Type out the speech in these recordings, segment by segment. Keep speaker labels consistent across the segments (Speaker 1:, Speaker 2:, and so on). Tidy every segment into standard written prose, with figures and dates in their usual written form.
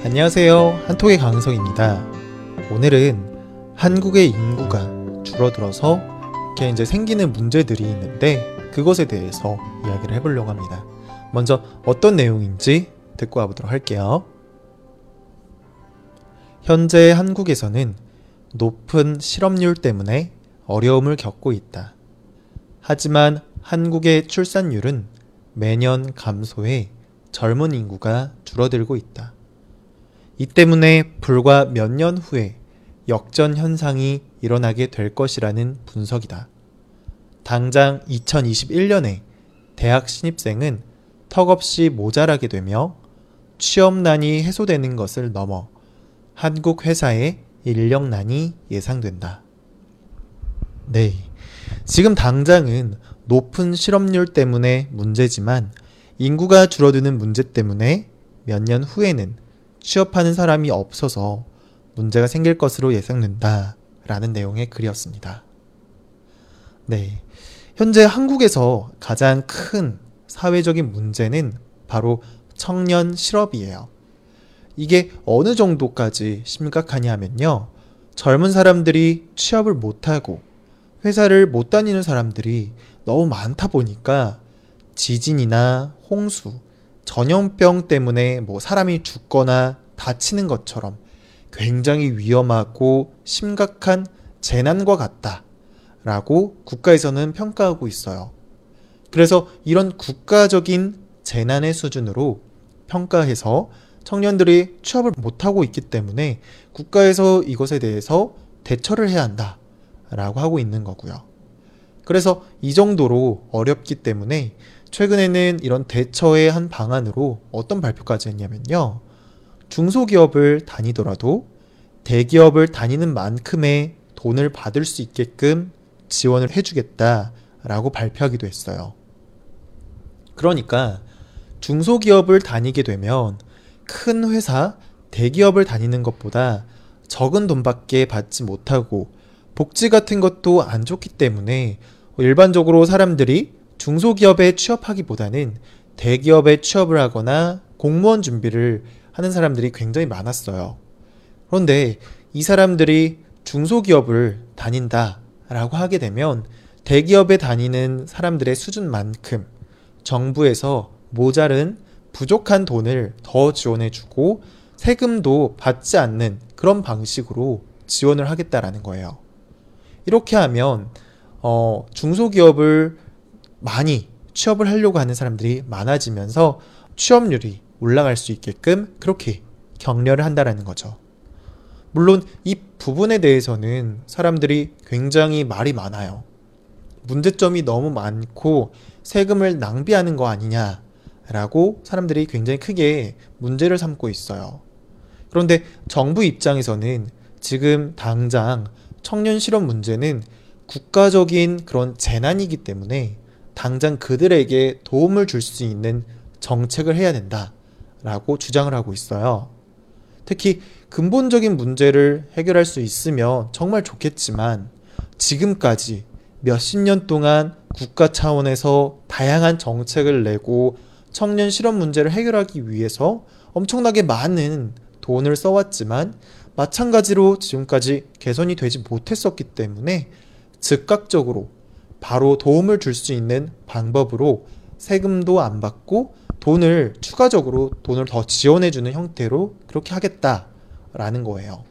Speaker 1: 안녕하세요. 한톡의 강은성입니다. 오늘은 한국의 인구가 줄어들어서 이렇게 이제 생기는 문제들이 있는데 그것에 대해서 이야기를 해보려고 합니다. 먼저 어떤 내용인지 듣고 와보도록 할게요. 현재 한국에서는 높은 실업률 때문에 어려움을 겪고 있다. 하지만 한국의 출산율은 매년 감소해 젊은 인구가 줄어들고 있다. 이 때문에 불과 몇 년 후에 역전 현상이 일어나게 될 것이라는 분석이다. 당장 2021년에 대학 신입생은 턱없이 모자라게 되며 취업난이 해소되는 것을 넘어 한국 회사의 인력난이 예상된다. 네, 지금 당장은 높은 실업률 때문에 문제지만 인구가 줄어드는 문제 때문에 몇 년 후에는 취업하는 사람이 없어서 문제가 생길 것으로 예상된다 라는 내용의 글이었습니다. 네, 현재 한국에서 가장 큰 사회적인 문제는 바로 청년 실업이에요. 이게 어느 정도까지 심각하냐 하면요, 젊은 사람들이 취업을 못하고 회사를 못 다니는 사람들이 너무 많다 보니까 지진이나 홍수, 전염병 때문에 사람이 죽거나 다치는 것처럼 굉장히 위험하고 심각한 재난과 같다라고 국가에서는 평가하고 있어요. 그래서 이런 국가적인 재난의 수준으로 평가해서 청년들이 취업을 못하고 있기 때문에 국가에서 이것에 대해서 대처를 해야 한다라고 하고 있는 거고요. 그래서 이 정도로 어렵기 때문에 최근에는 이런 대처의 한 방안으로 어떤 발표까지 했냐면요, 중소기업을 다니더라도 대기업을 다니는 만큼의 돈을 받을 수 있게끔 지원을 해주겠다라고 발표하기도 했어요. 그러니까 중소기업을 다니게 되면 큰 회사, 대기업을 다니는 것보다 적은 돈밖에 받지 못하고 복지 같은 것도 안 좋기 때문에 일반적으로 사람들이 중소기업에 취업하기보다는 대기업에 취업을 하거나 공무원 준비를 하는 사람들이 굉장히 많았어요. 그런데 이 사람들이 중소기업을 다닌다라고 하게 되면 대기업에 다니는 사람들의 수준만큼 정부에서 모자른 부족한 돈을 더 지원해주고 세금도 받지 않는 그런 방식으로 지원을 하겠다라는 거예요. 이렇게 하면 중소기업을 많이 취업을 하려고 하는 사람들이 많아지면서 취업률이 올라갈 수 있게끔 그렇게 격려를 한다라는 거죠. 물론 이 부분에 대해서는 사람들이 굉장히 말이 많아요. 문제점이 너무 많고 세금을 낭비하는 거 아니냐라고 사람들이 굉장히 크게 문제를 삼고 있어요. 그런데 정부 입장에서는 지금 당장 청년 실업 문제는 국가적인 그런 재난이기 때문에 당장 그들에게 도움을 줄 수 있는 정책을 해야 된다라고 주장을 하고 있어요. 특히 근본적인 문제를 해결할 수 있으면 정말 좋겠지만 지금까지 몇십 년 동안 국가 차원에서 다양한 정책을 내고 청년 실업 문제를 해결하기 위해서 엄청나게 많은 돈을 써왔지만 마찬가지로 지금까지 개선이 되지 못했었기 때문에 즉각적으로 바로 도움을 줄 수 있는 방법으로 세금도 안 받고 추가적으로 돈을 더 지원해주는 형태로 그렇게 하겠다라는 거예요.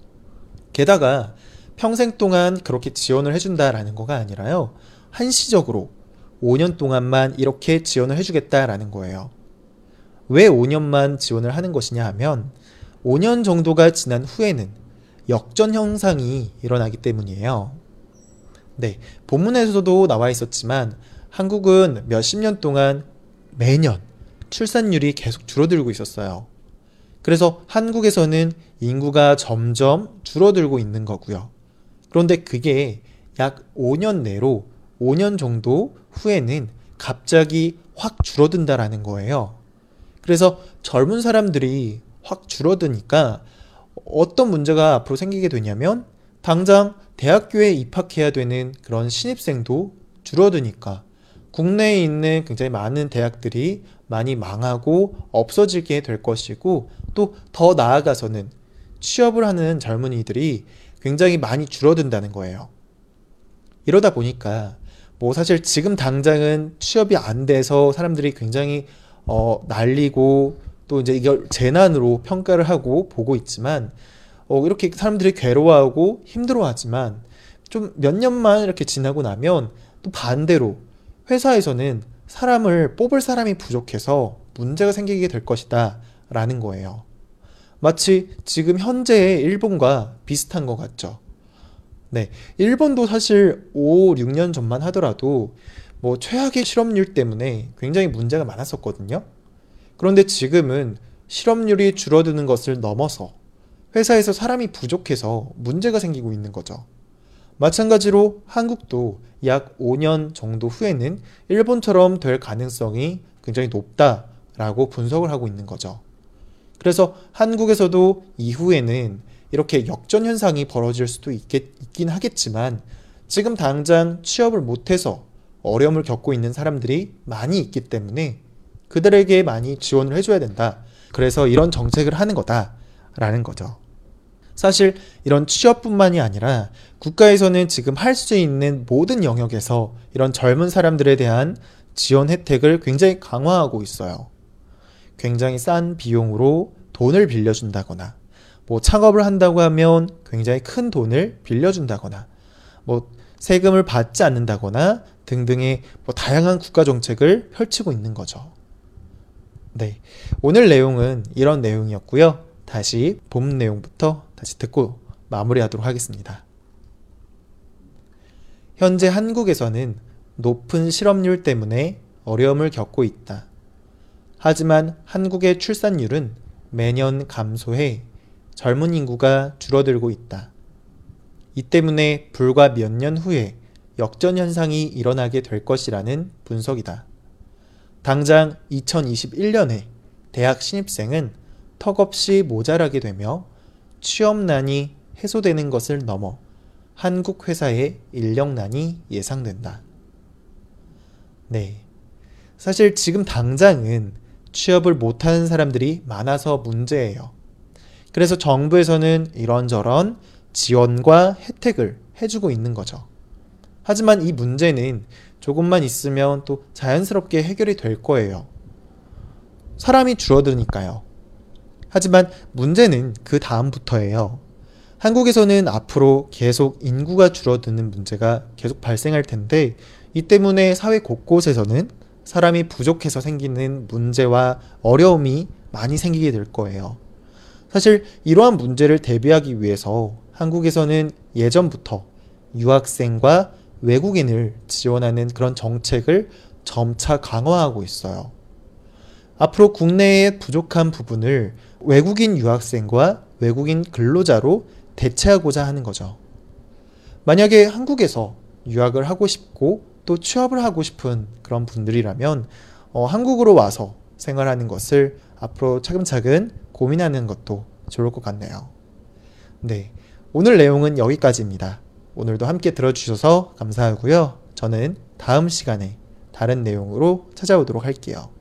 Speaker 1: 게다가 평생 동안 그렇게 지원을 해준다라는 거가 아니라요, 한시적으로 5년 동안만 이렇게 지원을 해주겠다라는 거예요. 왜 5년만 지원을 하는 것이냐 하면 5년 정도가 지난 후에는 역전 현상이 일어나기 때문이에요. 네, 본문에서도 나와 있었지만 한국은 몇십 년 동안 매년 출산율이 계속 줄어들고 있었어요. 그래서 한국에서는 인구가 점점 줄어들고 있는 거고요. 그런데 그게 약 5년 내로 5년 정도 후에는 갑자기 확 줄어든다라는 거예요. 그래서 젊은 사람들이 확 줄어드니까 어떤 문제가 앞으로 생기게 되냐면 당장 대학교에 입학해야 되는 그런 신입생도 줄어드니까 국내에 있는 굉장히 많은 대학들이 많이 망하고 없어지게 될 것이고, 또 더 나아가서는 취업을 하는 젊은이들이 굉장히 많이 줄어든다는 거예요. 이러다 보니까 뭐 사실 지금 당장은 취업이 안 돼서 사람들이 굉장히 난리고, 또 이제 이걸 재난으로 평가를 하고 보고 있지만, 이렇게 사람들이 괴로워하고 힘들어하지만 좀 몇 년만 이렇게 지나고 나면 또 반대로 회사에서는 사람을 뽑을 사람이 부족해서 문제가 생기게 될 것이다 라는 거예요. 마치 지금 현재의 일본과 비슷한 것 같죠. 네, 일본도 사실 5, 6년 전만 하더라도 뭐 최악의 실업률 때문에 굉장히 문제가 많았었거든요. 그런데 지금은 실업률이 줄어드는 것을 넘어서 회사에서 사람이 부족해서 문제가 생기고 있는 거죠. 마찬가지로 한국도 약 5년 정도 후에는 일본처럼 될 가능성이 굉장히 높다라고 분석을 하고 있는 거죠. 그래서 한국에서도 이후에는 이렇게 역전 현상이 벌어질 수도 있긴 하겠지만, 지금 당장 취업을 못해서 어려움을 겪고 있는 사람들이 많이 있기 때문에 그들에게 많이 지원을 해줘야 된다. 그래서 이런 정책을 하는 거다라는 거죠. 사실 이런 취업뿐만이 아니라 국가에서는 지금 할 수 있는 모든 영역에서 이런 젊은 사람들에 대한 지원 혜택을 굉장히 강화하고 있어요. 굉장히 싼 비용으로 돈을 빌려준다거나, 뭐 창업을 한다고 하면 굉장히 큰 돈을 빌려준다거나, 뭐 세금을 받지 않는다거나 등등의 뭐 다양한 국가 정책을 펼치고 있는 거죠. 네, 오늘 내용은 이런 내용이었고요. 다시 본 내용부터 다시 듣고 마무리하도록 하겠습니다. 현재 한국에서는 높은 실업률 때문에 어려움을 겪고 있다. 하지만 한국의 출산율은 매년 감소해 젊은 인구가 줄어들고 있다. 이 때문에 불과 몇 년 후에 역전 현상이 일어나게 될 것이라는 분석이다. 당장 2021년에 대학 신입생은 턱없이 모자라게 되며 취업난이 해소되는 것을 넘어 한국 회사의 인력난이 예상된다. 네, 사실 지금 당장은 취업을 못하는 사람들이 많아서 문제예요. 그래서 정부에서는 이런저런 지원과 혜택을 해주고 있는 거죠. 하지만 이 문제는 조금만 있으면 또 자연스럽게 해결이 될 거예요. 사람이 줄어드니까요. 하지만 문제는 그 다음부터예요. 한국에서는 앞으로 계속 인구가 줄어드는 문제가 계속 발생할 텐데, 이 때문에 사회 곳곳에서는 사람이 부족해서 생기는 문제와 어려움이 많이 생기게 될 거예요. 사실 이러한 문제를 대비하기 위해서 한국에서는 예전부터 유학생과 외국인을 지원하는 그런 정책을 점차 강화하고 있어요. 앞으로 국내의 부족한 부분을 외국인 유학생과 외국인 근로자로 대체하고자 하는 거죠. 만약에 한국에서 유학을 하고 싶고 또 취업을 하고 싶은 그런 분들이라면 한국으로 와서 생활하는 것을 앞으로 차근차근 고민하는 것도 좋을 것 같네요. 네, 오늘 내용은 여기까지입니다. 오늘도 함께 들어주셔서 감사하고요. 저는 다음 시간에 다른 내용으로 찾아오도록 할게요.